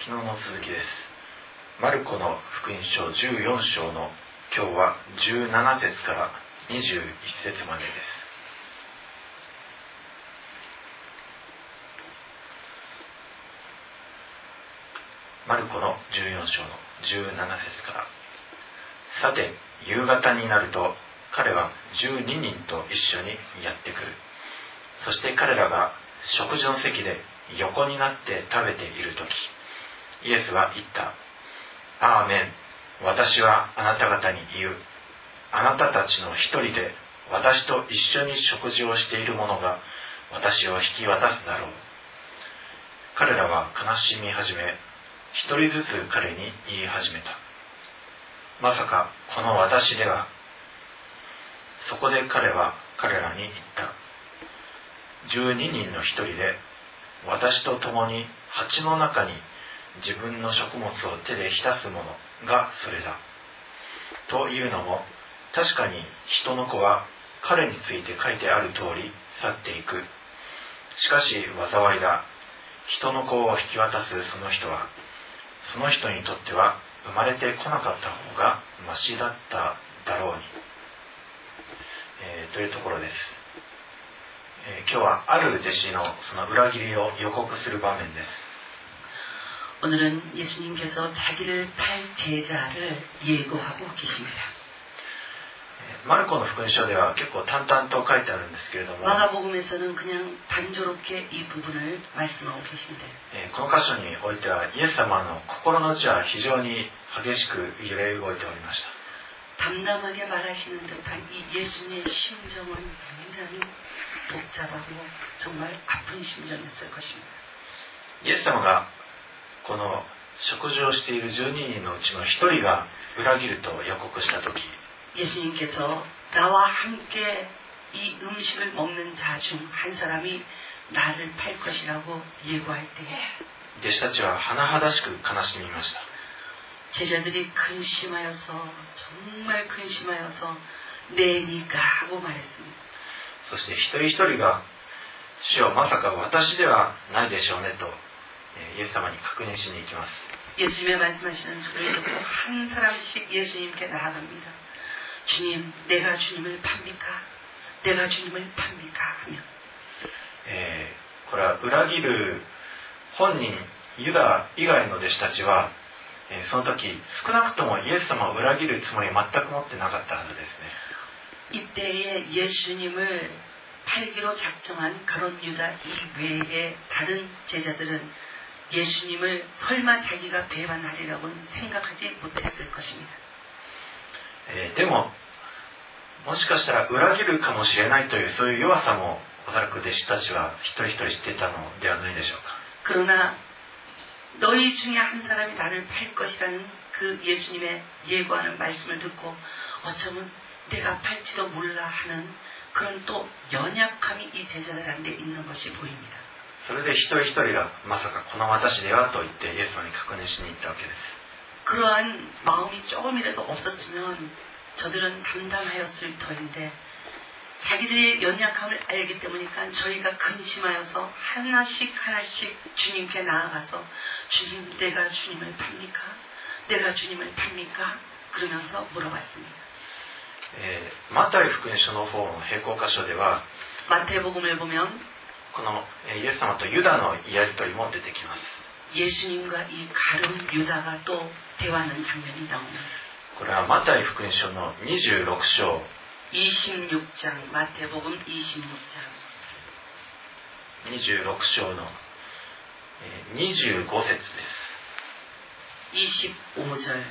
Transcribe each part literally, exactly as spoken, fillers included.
昨日の続きです。マルコの福音書じゅうよん章の今日はじゅうなな節からにじゅういち節までです。マルコのじゅうよん章のじゅうなな節から。さて、夕方になると彼はじゅうににんと一緒にやってくる。そして彼らが食事の席で横になって食べているとき、イエスは言った。アーメン。私はあなた方に言う。あなたたちの一人で私と一緒に食事をしている者が私を引き渡すだろう。彼らは悲しみ始め、一人ずつ彼に言い始めた。まさかこの私では。そこで彼は彼らに言った。十二人の一人で私と共に鉢の中に自分の食物を手で浸す者がそれだ。というのも、確かに人の子は彼について書いてある通り去っていく。しかし災いだ。人の子を引き渡すその人は、その人にとっては生まれてこなかった方がましだっただろうに。えー、というところです。えー、今日はある弟子のその裏切りを予告する場面です。 오늘은 예수님께서 자기를 팔 제자를 예고하고 계십니다. マルコの福音書では結構淡々と書いてあるんですけれども、 마가복음에서는 그냥 단조롭게 이 부분을 말씀하고 계신데, この箇所においてはイエス様の心の内は非常に激しく揺れ動いておりました。 담담하게 말하시는 듯한 이 예수님의 심정은 굉장히 복잡하고 정말 아픈 심정이었을 것입니다. イエス様がこの食事をしているじゅうににんのうちの一人が裏切ると予告したとき、 예수님께서 나와 함께 이 음식을 먹는 자 중 한 사람이 나를 팔 것이라고 예고할 때에 弟子たちは甚だしく悲しみました。 제자들이 근심하여서 정말 근심하여서 내니까 하고 말했습니다. そして一人一人が主よまさか私ではないでしょうねとイエス様に確認しに行きます。 예수님의 말씀하시는 소리를 듣고 한 사람씩 예수님께 나아갑니다. 주님, 내가 주님을 팝니까? 내가 주님을 팝니까? 하며 えー、これは裏切る本人ユダ以外の弟子たちは、えー、その時少なくともイエス様を裏切るつもりは全く持ってなかったはずですね。 이때에 예수님을 팔기로 작정한 그런 유다 이외에 다른 제자들은 예수님을 설마 자기가 배반하리라고는 생각하지 못했을 것입니다. えー、でももしかしたら裏切るかもしれないというそういう弱さもおそらく弟子たちは一人一人知っていたのではないでしょうか。 그러나 너희 중에 한 사람이 나를 팔 것이라는 그 예수님의 예고하는 말씀을 듣고 어쩌면 내가 팔지도 몰라 하는 그런 또 연약함이 이 제자들한테 있는 것이 보입니다. それで一人一人がまさかこの私ではと言ってイエス様に確認しに行ったわけです。 그러한 마음이 조금이라도 없었으면 저들은 담담하였을 터인데 자기들의 연약함을 알기 때문이니까 저희가 근심하여서 하나씩 하나씩 주님께 나아가서 주님, 내가 주님을 팝니까? 내가 주님을 팝니까? 그러면서 물어봤습니다. えー、マタイ福音書の方の並行箇所では 마태복음을 보면 このイエス様とユダのやり取りも出てきます。 예수님과 이 가룟 유다가 또 대화하는 장면이 나옵니다. これはマタイ福音書のにじゅうろく章 이십육 장 마태복음 이십육 장 にじゅうろく章のにじゅうご節です。 이십오 절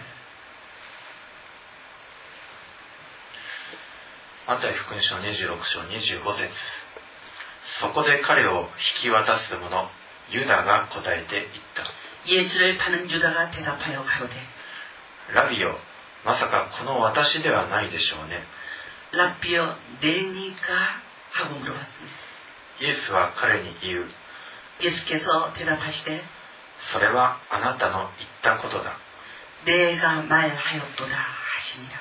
マタイ福音書にじゅうろく章にじゅうご節。そこで彼を引き渡す者ユダが答えて言った。 예수를 파는 유다가 대답하여 가로되 ラビよ、まさかこの私ではないでしょうね。 라비여 내니까 하고 물어봤습니다. イエスは彼に言う。 예수께서 대답하시되 それはあなたの言ったことだ。 내가 말하였도다 하시니라.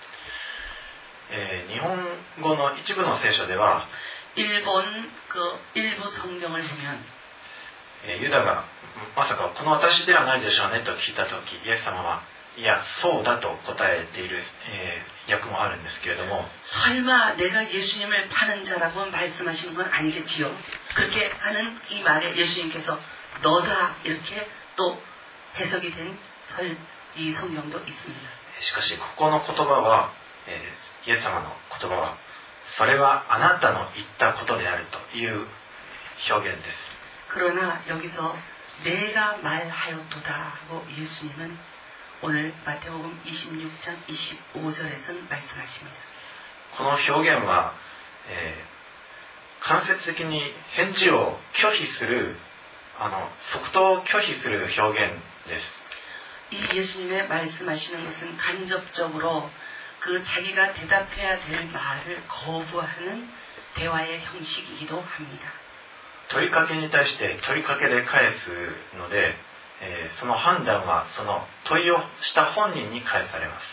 えー、日本語の一部の聖書では 일본 그 일부 성경을 보면 ユダがまさかこの私ではないでしょうねと聞いたとき、イエス様はいやそうだと答えている、えー、訳もあるんですけれども、 설마 내가 예수님을 파는 자라고 말씀하시는 건 아니겠지요? 그렇게 하는 이 말에 예수님께서 너다 이렇게 또 해석이 된 설, 이 성경도 있습니다. しかしここの言葉は、えー、イエス様の言葉はそれはあなたの言ったことであるという表現です。 그러나 여기서 내가 말하였도다고 예수님은 오늘 마태복음 이십육 장 이십오 절에서는 말씀하십니다. この表現は、えー、間接的に返事を拒否するあの即答を拒否する表現です。 이 예수님의 말씀하시는 것은 간접적으로 그 자기가 대답해야 될 말을 거부하는 대화의 형식이기도 합니다. 問いかけに対して問いかけで返すので、えー、その判断はその問いをした本人に返されます。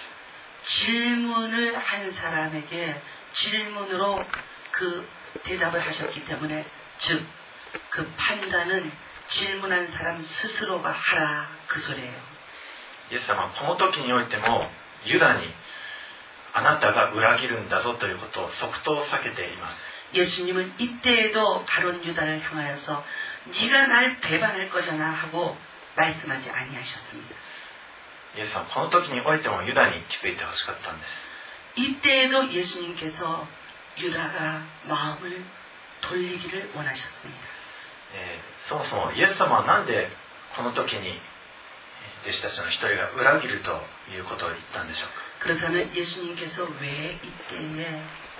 질문을 한 사람에게 질문으로 그 대답을 하셨기 때문에 즉 그 판단은 질문한 사람 스스로가 하라 그 소리예요. イエス様はこの時においてもユダにあなたが裏切るんだぞということを即答避けています。 예수님은 이때에도 가룟 유다를 향하여서 네가 날 배반할 거잖아 하고 말씀하지 아니하셨습니다. イエス様はこの時においてもユダに気づいてほしかったんです。 이때에도 예수님께서 유다가 마음을 돌리기를 원하셨습니다. えー、そもそもイエス様は何でこの時に弟子たちの一人が裏切るということを言ったんでしょうか。 그렇다면 예수님께서 왜 이때에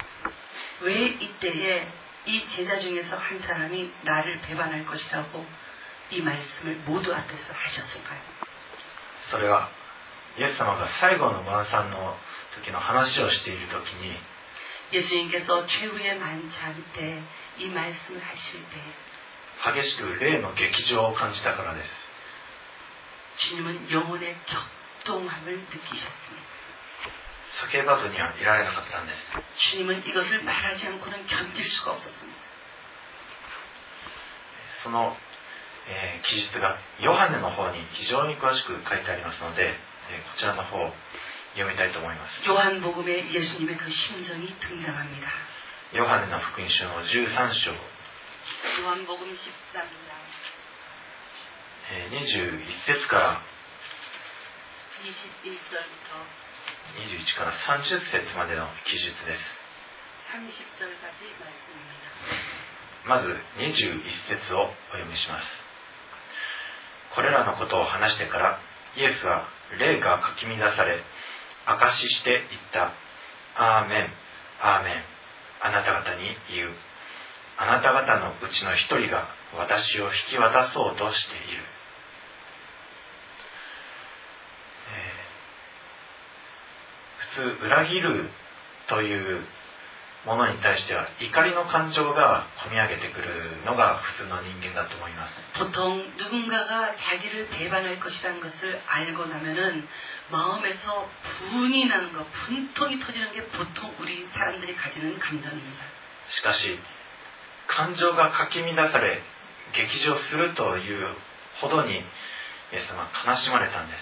왜 이때에 이 제자 중에서 한 사람이 나를 배반할 것이라고 이 말씀을 모두 앞에서 하셨을까요? それはイエス様が最後の晩餐の時の話をしている時に 예수님께서 최후의 만찬 때 이 말씀을 하실 때 激しく霊の激情を感じたからです。 주님은 영혼의 격동함을 느끼셨습니다. 叫ばずにはいられなかったんです。 주님은 이것을 말하지 않고는 견딜 수가 없었습니다. その、えー、記述がヨハネの方に非常に詳しく書いてありますので、えー、こちらの方を読みたいと思います。 요한복음에 예수님의 그 심정이 등장합니다. ヨハネの福音書のじゅうさん章 요한복음 십삼 장 にじゅういっ節から 이십일 절부터 にじゅういちからさんじゅっ節までの記述です。 삼십 절까지 말씀입니다. まずにじゅういっ節をお読みします。これらのことを話してからイエスは霊がかき乱され証しして言った。アーメン、アーメン。あなた方に言う。あなた方のうちの一人が私を引き渡そうとしている。えー、普通裏切るというものに対しては怒りの感情がこみ上げてくるのが普通の人間だと思います。 보통 누군가가 자기를 배반할 것이라는 것을 알고 나면은 마음에서 분이 나는 것, 분통이 터지는 게 보통 우리 사람들이 가지는 감정입니다. しかし感情がかき乱され激情するというほどにイエス様は悲しまれたんです。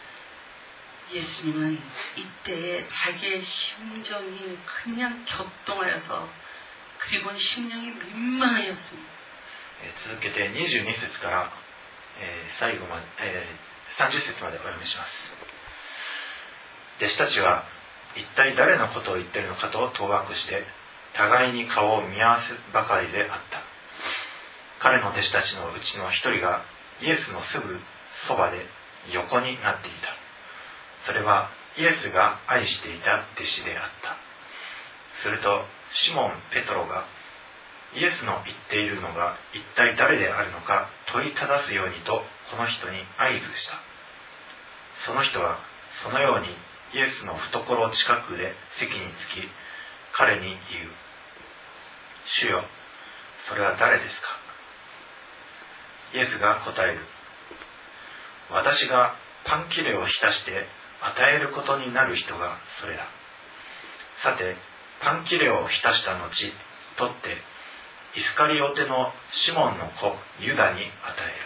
예수님은 이때에 자기의 심정이 그냥 격동하여서 그리고 심령이 민망하였습니다. 続けてにじゅうに節から、えー、最後まで、えー、さんじゅっ節までお読みします。弟子たちは一体誰のことを言っているのかと当惑して互いに顔を見合わせばかりであった。彼の弟子たちのうちの一人がイエスのすぐそばで横になっていた。それはイエスが愛していた弟子であった。するとシモン・ペトロがイエスの言っているのが一体誰であるのか問いただすようにとこの人に合図した。その人はそのようにイエスの懐近くで席につき彼に言う。主よ、それは誰ですか？イエスが答える。私がパン切れを浸して与えることになる人がそれだ。さて、パン切れを浸した後、取ってイスカリオテのシモンの子ユダに与える。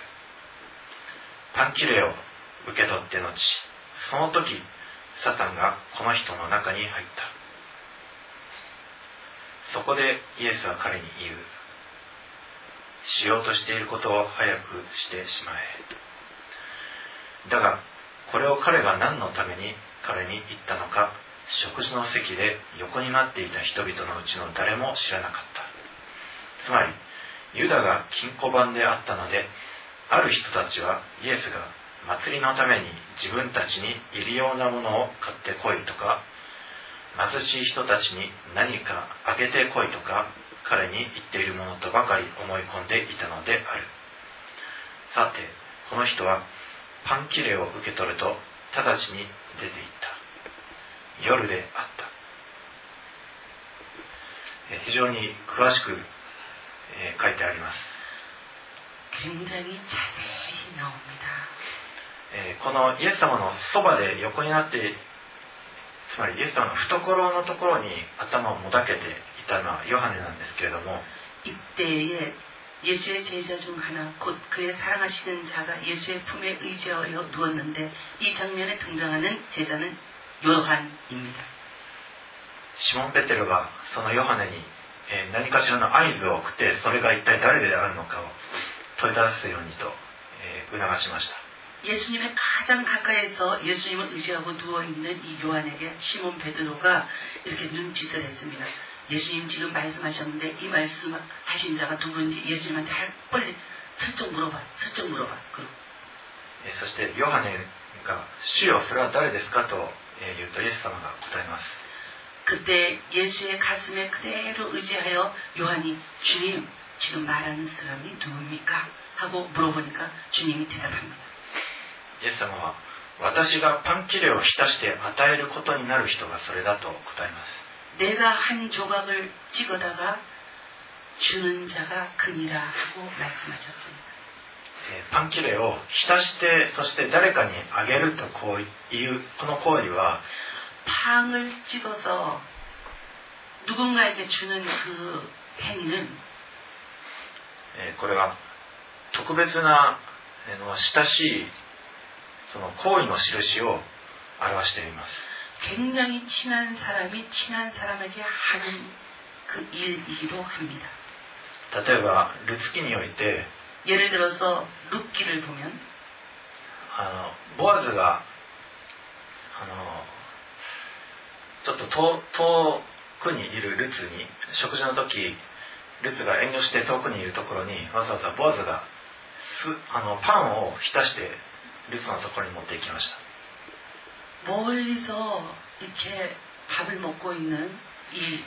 パンキレを受け取って後、その時サタンがこの人の中に入った。そこでイエスは彼に言う。しようとしていることを早くしてしまえ。だがこれを彼が何のために彼に言ったのか、食事の席で横になっていた人々のうちの誰も知らなかった。つまりユダが金庫番であったので、ある人たちはイエスが祭りのために自分たちにいるようなものを買ってこいとか、貧しい人たちに何かあげてこいとか彼に言っているものとばかり思い込んでいたのである。さてこの人はパンキレを受け取ると直ちに出て行った。夜であった。非常に詳しく書いてあります。 굉장히 자세히 나옵니다. このイエス様のそばで横になって、つまりイエス様の懐のところに頭をもだけていたのはヨハネなんですけれども、 이때에 예수의 제자 중 하나, 곧 그의 사랑하시는 자가 예수의 품에 의지하여 누웠는데 이 장면에 등장하는 제자는 요한입니다. シモン・ペテロがそのヨハネに何かしらの合図を送って、それが一体誰であるのかを問い出すようにと促しました。 예수님의 가장 가까이서 예수님을 의지하고 누워있는 이 요한에게 시몬 베드로가 이렇게 눈짓을 했습니다. 예수님 지금 말씀하셨는데 이 말씀하신 자가 누구인지 예수님한테 빨리 슬쩍 물어봐, 슬쩍 물어봐. そしてヨハネが主よそれは誰ですかと言うとイエス様が答えます。 그때 예수의 가슴에 그대로 의지하여 요한이 주님 지금 말하는 사람이 누굽니까? 하고 물어보니까 주님이 대답합니다. イエス様は私がパンキレを浸して与えることになる人がそれだと答えます。 내가 한 조각을 찍어다가 주는 자가 그니라 하고 말씀하셨습니다. パンキレを浸してそして誰かにあげるとこういうこの行為は 팡을 찍어서 누군가에게 주는 그 행위는 これは特別な親しいその行為の印を表しています。 굉장히 친한 사람이 친한 사람에게 하는 그 일이기도 합니다. 例えばルツ記において 예를 들어서 룻기를 보면 あのボアズがあのちょっと遠遠くにいるルツに食事の時ルツが遠慮して遠くにいるところにわざわざボアズがすあのパンを浸してルツのところに持って行きました。 멀리서 이렇게 밥을 먹고 있는 이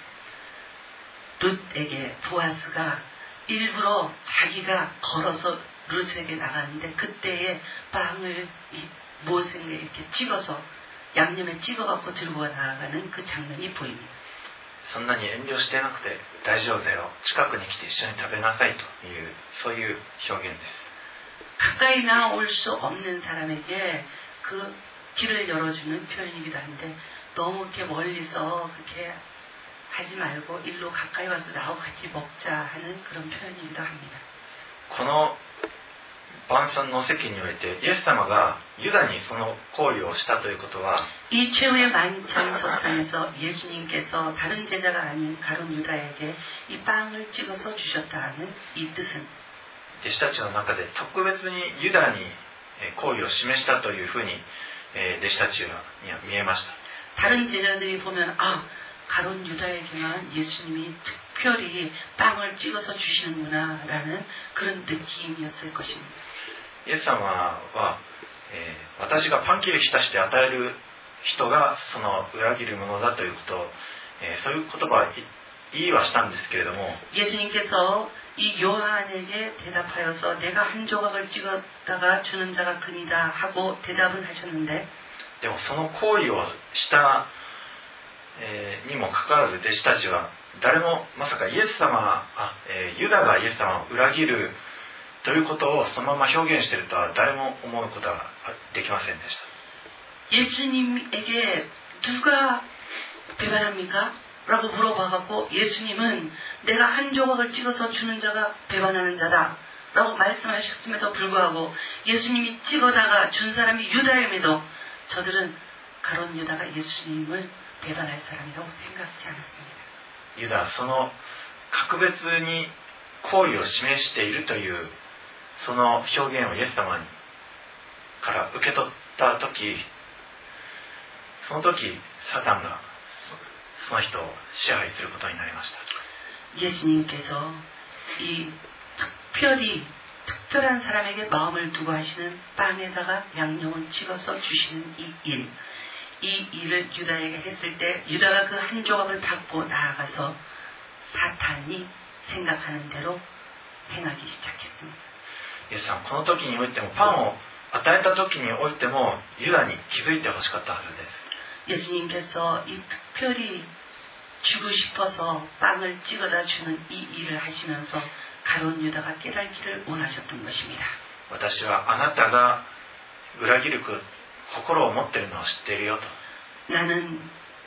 룻에게 보아스가 일부러 자기가 걸어서 룻에게 나가는데 그때에 빵을 이 모생에 이렇게 찍어서 양념에 찍어갖고 들고 나가는 그 장면이 보입니다. そんなに遠慮してなくて大丈夫だよ、近くに来て一緒に食べなさいというそういう表現です。 가까이 나올 수 없는 사람에게 그 길을 열어주는 표현이기도 한데 너무 이렇게 멀리서 그렇게 하지 말고 일로 가까이 와서 나하고 같이 먹자 하는 그런 표현이기도 합니다. この晩餐の席においてイエス様がユダにその行為をしたということは 이 최후의 만찬 석상에서 예수님께서 다른 제자가 아닌 가룟 유다에게 이 빵을 찍어서 주셨다는 이 뜻은 弟子たちの中で特別にユダに行為を示したというふうに弟子たちには見えました。 다른 제자들이 보면 아 가룟 유다에게만 예수님이 특별히 빵을 찍어서 주시는구나 라는 그런 느낌이었을 것입니다. イエス様は、えー、私がパンキリ浸して与える人がその裏切るものだということを、えー、そういう言葉は言いはしたんですけれども 예수님께서 이 요한에게 대답하여서 내가 한 조각을 찍었다가 주는 자가 그니다 하고 대답은 하셨는데 でもその行為をした、えー、にもかかわらず弟子たちは誰もまさかイエス様あ、えー、ユダがイエス様を裏切るということをそのまま表現しているとは誰も思うことはできませんでした。 예수님에게 누가 배반합니까? 라고 물어봐갖고 예수님은 내가 한 조각을 찍어서 주는 자가 배반하는 자다 라고 말씀하셨음에도 불구하고 예수님이 찍어다가 준 사람이 유다임에도 저들은 가룟 유다가 예수님을 배반할 사람이라고 생각하지 않았습니다. ユダはその格別に好意を示しているというその表現をイエス様にから受け取った時、その時サタンがその人を支配することになりました。 예수님께서 이 특별히 특별한 사람에게 마음을 두고 하시는 빵에다가 양념을 찍어서 주시는 이 일, 이 일을 유다에게 했을 때 유다가 그 한 조각을 받고 나아가서 사탄이 생각하는 대로 행하기 시작했습니다. イエス様この時においてもパンを与えた時においてもユダに気づいてほしかったはずです。 예수님께서 이 특별히 주고 싶어서 빵을 찍어다 주는 이 일을 하시면서 가룟 유다가 깨닫기를 원하셨던 것입니다. 私はあなたが裏切る心を持っているのを知っているよと。 나는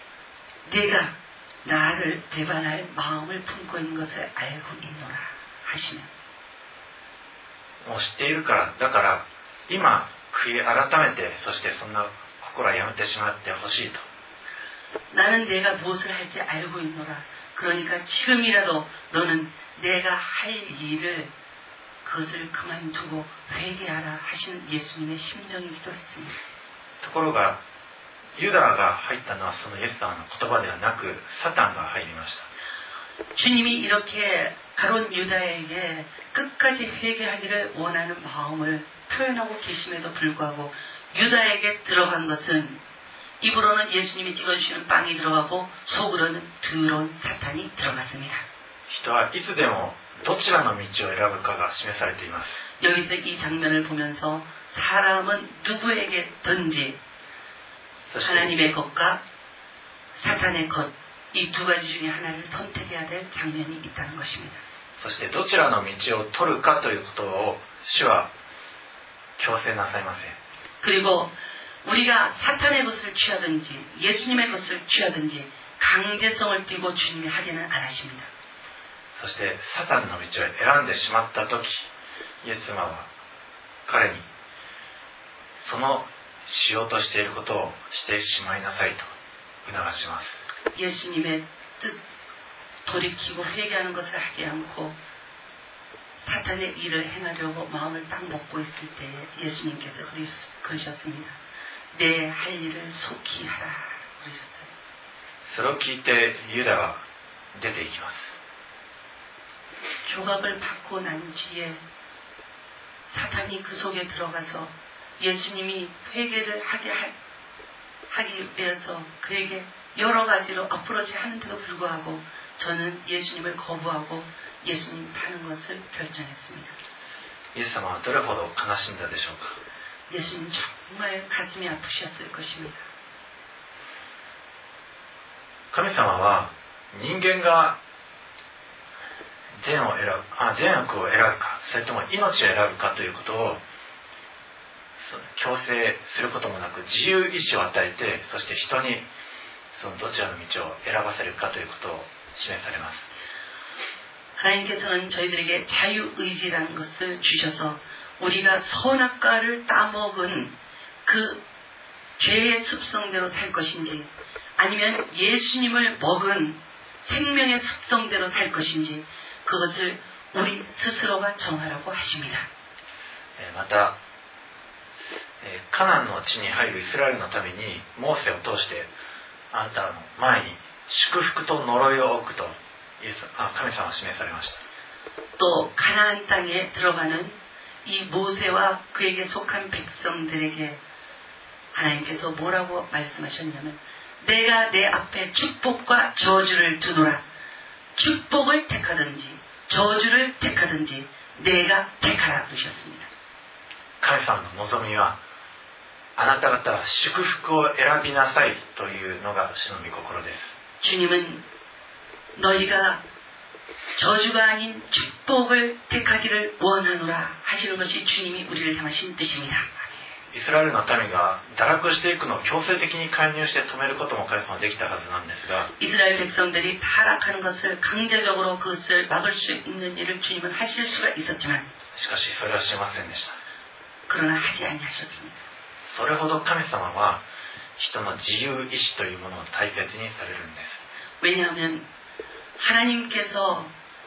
네가 나를 배반할 마음을 품고 있는 것을 알고 있노라 하시면 もう知っているからだから今悔い改めてそしてそんな心はやめてしまってほしいと。 나는 내가 무엇을 할지 알고 있노라. 그러니까 지금이라도 너는 내가 할 일을 그것을 그만두고 회개하라 하시는 예수님의 심정이기도 했습니다. ところがユダが入ったのはそのイエス様の言葉ではなくサタンが入りました。 주님이 이렇게 가룟 유다에게 끝까지 회개하기를 원하는 마음을 표현하고 계심에도 불구하고 유다에게 들어간 것은 입으로는 예수님이 찍어주시는 빵이 들어가고 속으로는 더러운 사탄이 들어갔습니다. 人はいつでもどちらの道を選ぶかが示されています。 여기서 이 장면을 보면서 사람은 누구에게든지 하나님의 것과 사탄의 것 이 두 가지 중에 하나를 선택해야 될 장면이 있다는 것입니다. そしてどちらの道を取るかということを主は強制なさいません。 그리고 우리가 사탄의 것을 취하든지 예수님의 것을 취하든지 강제성을 띠고 주님이 하지는 않으십니다. そしてサタンの道を選んでしまった時イエス様は彼にそのしようとしていることをしてしまいなさいと促します。 예수님의 뜻 돌이키고 회개하는 것을 하지 않고 사탄의 일을 행하려고 마음을 딱 먹고 있을 때 예수님께서 그러셨습니다. 내 할 일을 속히 하라 그러셨어요. それを聞いてユダは出ていきます。 조각을 받고 난 뒤에 사탄이 그 속에 들어가서 예수님이 회개를 하게 하, 하기 위해서 그에게 여러 가지로 어프로치 하는데도 불구하고 저는 예수님을 거부하고 예수님 파는 것을 결정했습니다. イエス様はどれほど悲しんだでしょうか。 예수님 정말 가슴이 아프셨을 것입니다. 神様は人間が善を選ぶ、あ、善悪を選ぶか、それとも命を選ぶかということを強制することもなく自由意志を与えて、そして人にそのどちらの道を選ばせるかということを示されます。 하나님께서는 저희들에게 자유의지라는 것을 주셔서 우리가 선악과를 따먹은 그 죄의 습성대로 살 것인지 아니면 예수님을 먹은 생명의 습성대로 살 것인지 그것을 우리 스스로가 정하라고 하십니다. またカナンの地に入るイスラエルのためにモーセを通してあなたの前に祝福と呪いを置くとイエスあ神様は示されました。 또 가나안 땅에 들어가는 이 모세와 그에게 속한 백성들에게 하나님께서 뭐라고 말씀하셨냐면 내가 내 앞에 축복과 저주를 두노라. 축복을 택하든지 저주를 택하든지 내가 택하라 그러셨습니다. 神様の望みはあなた方は祝福を選びなさいというのが主の御心です。 주님은 너희가 저주가 아닌 축복을 택하기를 원하노라 하시는 것이 주님이 우리를 향하신 뜻입니다. イスラエルの民が堕落していくのを強制的に介入して止めることも神様はできたはずなんですが、 이스라엘 백성들이 타락하는 것을 강제적으로 그것을 막을 수 있는 일을 주님은 하실 수가 있었지만, しかしそれはしませんでした。 그러나 하지 아니하셨습니다. それほど神様は人の自由意志というものを大切にされるんです。 왜냐하면 하나님께서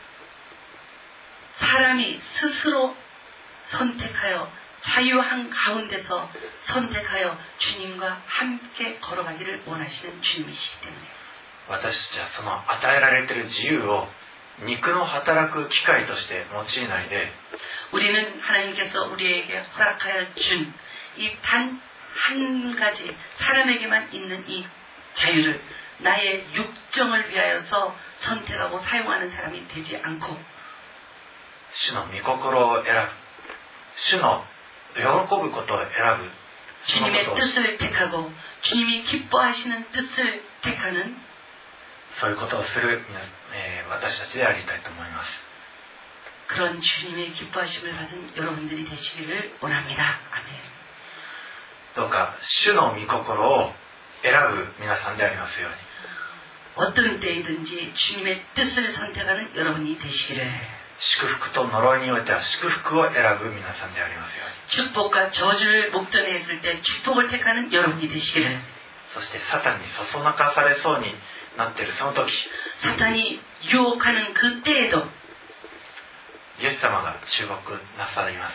사람이 스스로 선택하여 자유한 가운데서 선택하여 주님과 함께 걸어가기를 원하시는 주님이시기 때문에, 私たちはその与えられている自由を肉の働く機会として用いないで、 우리는 하나님께서 우리에게 허락하여 준 이 단 한 가지 사람에게만 있는 이 자유를 나의 육정을 위하여서 선택하고 사용하는 사람이 되지 않고, 主の御心を選ぶ、主の喜ぶことを選ぶ、 주님의 뜻을 택하고 주님이 기뻐하시는 뜻을 택하는 そういうことをする、えー、私たちでありたいと思います。 그런 주님의 기뻐하심을 받은 여러분들이 되시기를 원합니다. 아멘. どうか主の御心を選ぶ皆さんでありますように。 어떤 때이든지 주님의 뜻을 선택하는 여러분이 되시기를, 祝福と呪いにおいては祝福を選ぶ皆さんでありますように。 축복과 저주를 목전에 했을 때 축복을 택하는 여러분이 되시기를, そしてサタンにそそのかされそうになっているその時、 사탄이 유혹하는 그 때에도 イエス様が注目なさいます。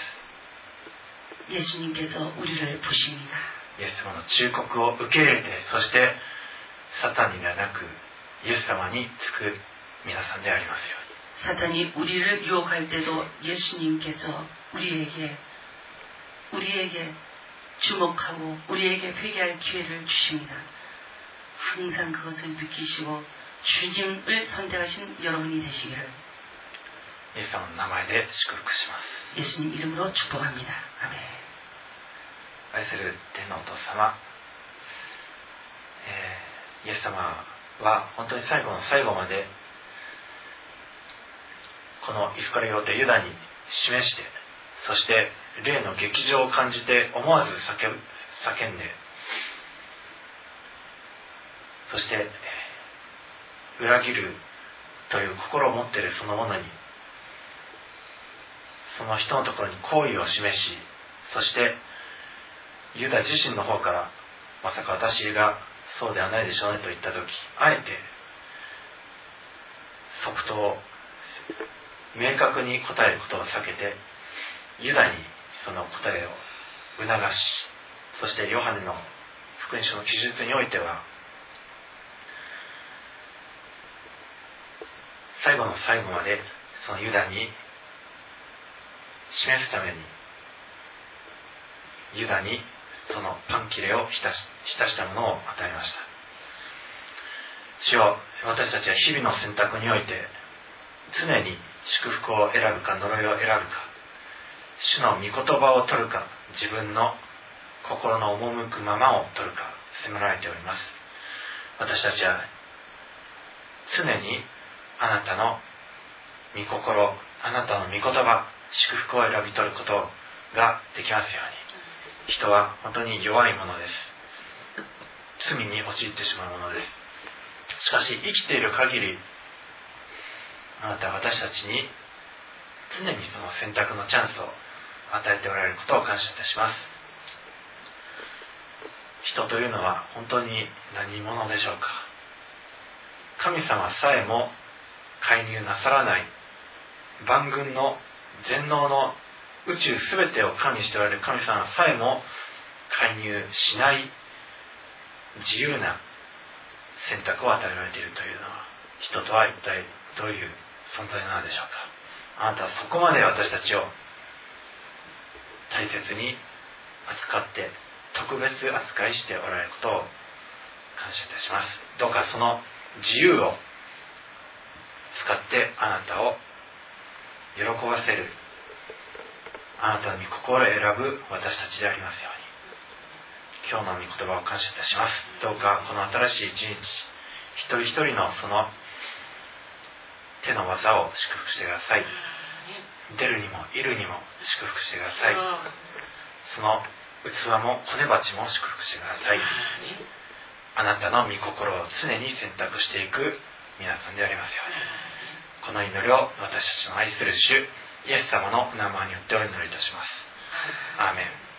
예수님께서 우리를 보십니다. イエス様の忠告を受け入れて、そしてサタンにではなくイエス様につく皆さんでありますように。 사탄이 우리를 유혹할 때도 예수님께서 우리에게 우리에게 주목하고 우리에게 회개할 기회를 주십니다. 항상 그것을 느끼시고 주님을 선택하신 여러분이 되시기를 イエス様の名前で祝福します。 예수님 이름으로 축복합니다. 아멘. 愛する天のお父様、えー、イエス様は本当に最後の最後までこのイスカリオテユダに示して、そして霊の劇場を感じて思わず叫ぶ叫んで、そして裏切るという心を持っているその者に、その人のところに好意を示し、そしてユダ自身の方から、まさか私がそうではないでしょうねと言った時、あえて即答明確に答えることを避けて、ユダにその答えを促し、そしてヨハネの福音書の記述においては最後の最後までそのユダに示すために、ユダにそのパン切れを浸し、浸したものを与えました。主よ、私たちは日々の選択において常に祝福を選ぶか呪いを選ぶか、主の御言葉を取るか、自分の心の赴くままを取るか迫られております。私たちは常にあなたの御心、あなたの御言葉、祝福を選び取ることができますように。人は本当に弱いものです。罪に陥ってしまうものです。しかし生きている限り、あなたは私たちに常にその選択のチャンスを与えておられることを感謝いたします。人というのは本当に何者でしょうか。神様さえも介入なさらない万軍の全能の宇宙すべてを管理しておられる神様さえも介入しない自由な選択を与えられているというのは、人とは一体どういう存在なのでしょうか。あなたはそこまで私たちを大切に扱って特別扱いしておられることを感謝いたします。どうかその自由を使ってあなたを喜ばせる、あなたの御心を選ぶ私たちでありますように。今日の御言葉を感謝いたします。どうかこの新しい一日、一人一人のその手の技を祝福してください。出るにもいるにも祝福してください。その器も骨鉢も祝福してください。あなたの御心を常に選択していく皆さんでありますように。この祈りを私たちの愛する主イエス様のお名前によってお祈りいたします。アーメン。